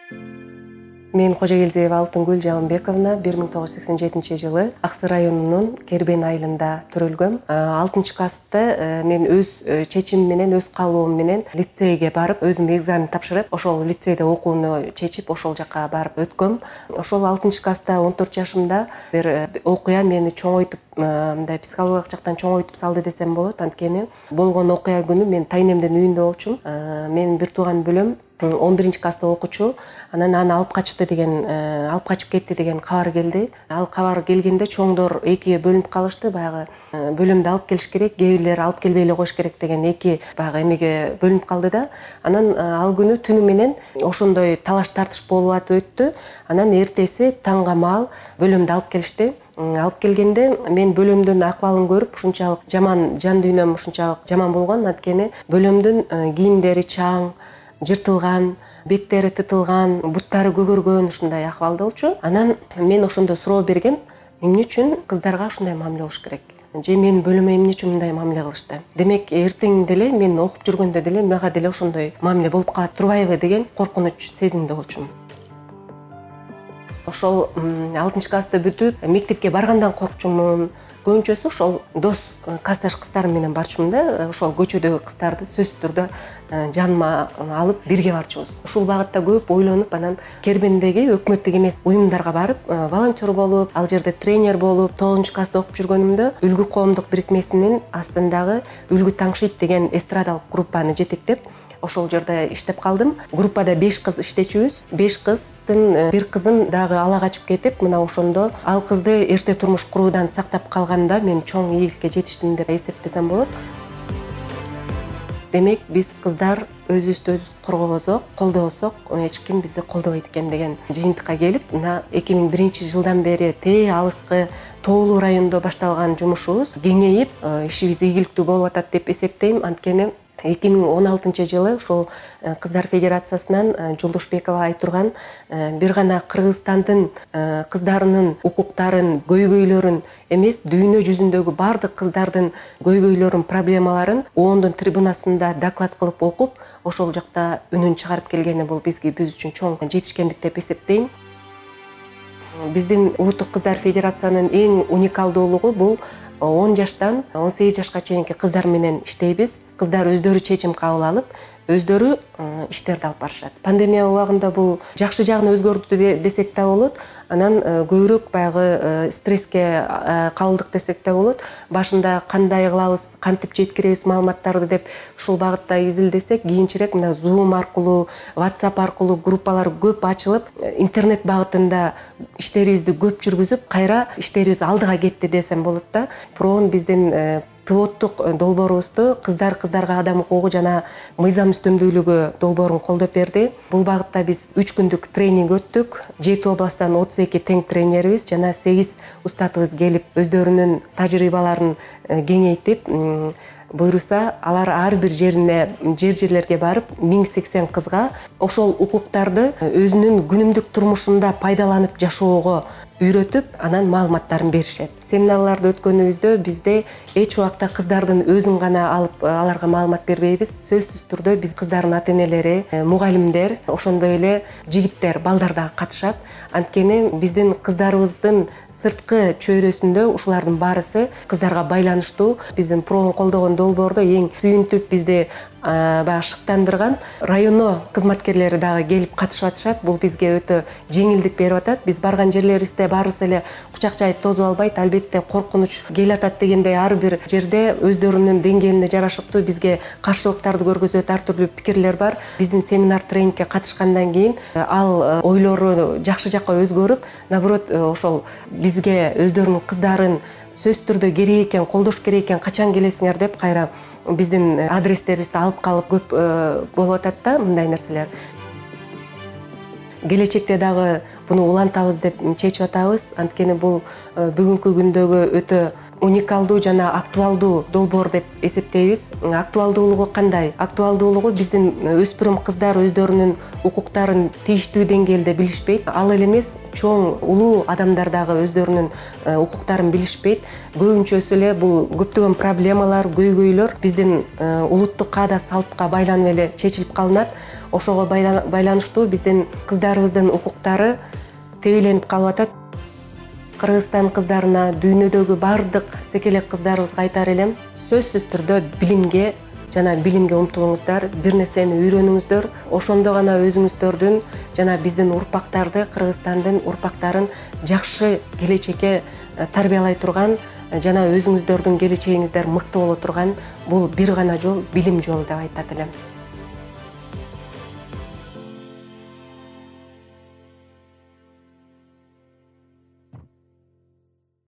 Мен Кожогелдиева Алтынгүл Жалымбековна 1987 жылы Аксы районунун Кербен айылында төрөлгөм. 6-класста мен өз чечимим менен, өз каалоом менен лицейге барып, өзүм экзамен тапшырып, ошол лицейде окууну чечип, ошол жака барып өткөм. Ошол 6-класста 14 жашымда бир окуя мени чоңойтуп, мындай психологиялык жактан чоңойтуп салды десем болот. Анткени болгон окуя күнү мен тайнемдин үйүндө болчумун. Менин бир тууган бөлөм 11-класста окучу, анан аны алып качып кетти деген кабар келди. Ал кабар келгенде чоңдор экиге бөлүнүп калышты. Баягы бөлөмдө алып келиш керек, кээ бирлер алып келбей эле коюш керек деген эки баягы эмеге бөлүнүп калды да. Анан ал күнү түнү менен ошондой талаш тартыш болуп атып өттү. Анан эртеси таңга маал бөлөмдө алып келишти. Алып келгенде мен бөлөмдүн акыбалын көрүп, ушунчалык жаман, жан дүйнөм ушунчалык жаман болгон. Анткени бөлөмдүн кийимдери чаң, жыртылган, беттери тытылган, буттары көгөргөн, ушундай акыбалда болчу. Анан мен ошондо суроо бергем, эмне үчүн кыздарга ушундай мамиле болуш керек? Же менин бөлөмө эмне үчүн мындай мамиле кылышты? Демек, эртең деле мен окуп жүргөндө деле мага деле ошондой мамиле болуп калат турбайбы деген коркунуч сезимде болчумун. Ошол 6-класста бүтүп, мектепке баргандан коркчумун. Көбүнчөсү ошол дос, классташ кыздарым менен барчумун да. Ошол көчөдөгү кыздарды сөзсүз түрдө жаныма алып бирге барчубуз. Ушул багытта көп ойлонуп, анан Кербендеги өкмөттүк эмес уюмдарга барып, волонтер болуп, ал жерде тренер болуп, 9-класста окуп жүргөнүмдө Үлгү коомдук бирикмесинин астындагы Үлгү Таңшит деген эстрадалык группаны жетектеп, ошол жерде иштеп калдым. Группада 5 кыз иштечүбүз. 5 кыздын бир кызын дагы ала качып кетип, мына ошондо ал кызды эрте турмуш куруудан сактап калганда мен чоң ийгиликке жетиштим деп эсептесем болот. Демек, биз кыздар өзүбүздү өзүбүз коргобосок, колдобосок, эч ким бизди колдобойт экен деген жыйынтыкка келип, мына 2001 жылдан бери тээ алыскы Тоолуу районунда башталган жумушубуз кеңейип, ишибиз ийгиликтүү болуп атат деп эсептейм. Анткени 2016 жылы ошол Кыздар Федерациясынан Жолдошбекова айтурган бир гана Кыргызстандын кыздарынын укуктарын, көйгөйлөрүн эмес, дүйнө жүзүндөгү бардык кыздардын көйгөйлөрүн, проблемаларын оондун трибунасында доклад кылып окуп, ошол жакта үнүн чыгарып келгени бул биз үчүн чоң жетишкендик деп эсептейм. Биздин Улуттук Кыздар Федерациянын эң уникалдуулугу бул 10 жаштан 18 жашка чейинки кыздар менен иштейбиз. Кыздар өздөрү чечим кабыл алып, өздөрү иштерди алып барышат. Пандемия убагында бул жакшы жагына өзгөрдү десек да болот. Анан көбүрөөк баягы стресске кабылдык десек да болот. Башында кандай кылабыз, кантип жеткиребиз маалыматтарды деп ушул багытта изилдесек, кийинчерээк мына Zoom аркылуу, WhatsApp аркылуу группалар көп ачылып, интернет багытында иштерибизди көп жүргүзүп, кайра иштерибиз алдыга кетти десем болот да. Проон биздин пилоттук долбоорубузду кыздарга адам укугу жана мыйзам үстөмдүүлүгү долбоорун колдоп берди. Бул багытта биз 3 күндүк тренинг өттүк. 7 областтан 32 тең тренерибиз жана 8 устатыбыз келип, өздөрүнүн тажрыйбаларын кеңейтип, буйруса алар ар бир жерлерге барып 1080 кызга ошол укуктарды өзүнүн күнүмдүк турмушунда пайдаланып жашоого үйрөтүп, анан маалыматтарын беришет. Семинарларды өткөнүбүздө бизде эч убакта кыздардын өзүн гана алып аларга маалымат бербейбиз. Сөзсүз түрдө биз кыздардын ата-энелери, мугалимдер, ошондой эле жигиттер, балдар да катышат. Анткени биздин кыздарыбыздын сырткы чөйрөсүндө ушулардын баарысы кыздарга байланыштуу. Биздин проон колдогон долбоордо эң сүйүнтүп бизди баягы шыктандырган районо кызматкерлери дагы келип катышып атышат. Бул бизге өтө жеңилдик берип атат. Биз барган жерлерибизде баарысы эле кучак жайып тозуп албайт. Албетте коркунуч келатат дегендей ар бир жерде өздөрүнүн деңгээлине жарашыктуу бизге каршылыктарды көргөзөт, ар түрдүү пикирлер бар. Биздин семинар тренингке катышкандан кийин ал ойлору жакшы жакка өзгөрүп, наоборот, ошол бизге өздөрүнүн кыздарын сөз түрдө керек экен, колдош керек экен, качан келесиңер деп кайра биздин адрестерибизди алып калып көп болуп атат да мындай нерселер. Келечекте дагы буну улантабыз деп чечип атабыз. Анткени бул бүгүнкү күндөгү өтө уникалдуу жана актуалдуу долбоор деп эсептейбиз. Актуалдуулугу кандай? Актуалдуулугу биздин өспүрүм кыздар өздөрүнүн укуктарын тийиштүү деңгээлде билишпейт. Ал эле эмес, чоң улуу адамдар дагы өздөрүнүн укуктарын билишпейт. Көбүнчөсү эле бул көптөгөн проблемалар, көйгөйлөр биздин улуттук каада салтка байланып эле чечилип калынат. ошого байланыштуу биздин кыздарыбыздын укуктары тебеленип калып атат. Кыргызстан кыздарына дүйнөдөгү бардык секелек кыздарыбызга айтар элем, сөзсүз түрдө билимге умтулуңуздар, бир нерсени үйрөнүңүздөр. Ошондо гана өзүңүздөрдүн жана биздин урпактарды, Кыргызстандын урпактарын жакшы келечекке тарбиялай турган жана өзүңүздөрдүн келечегиңиздер мыкты боло турган бул бир гана жол, билим жолу деп айтат элем.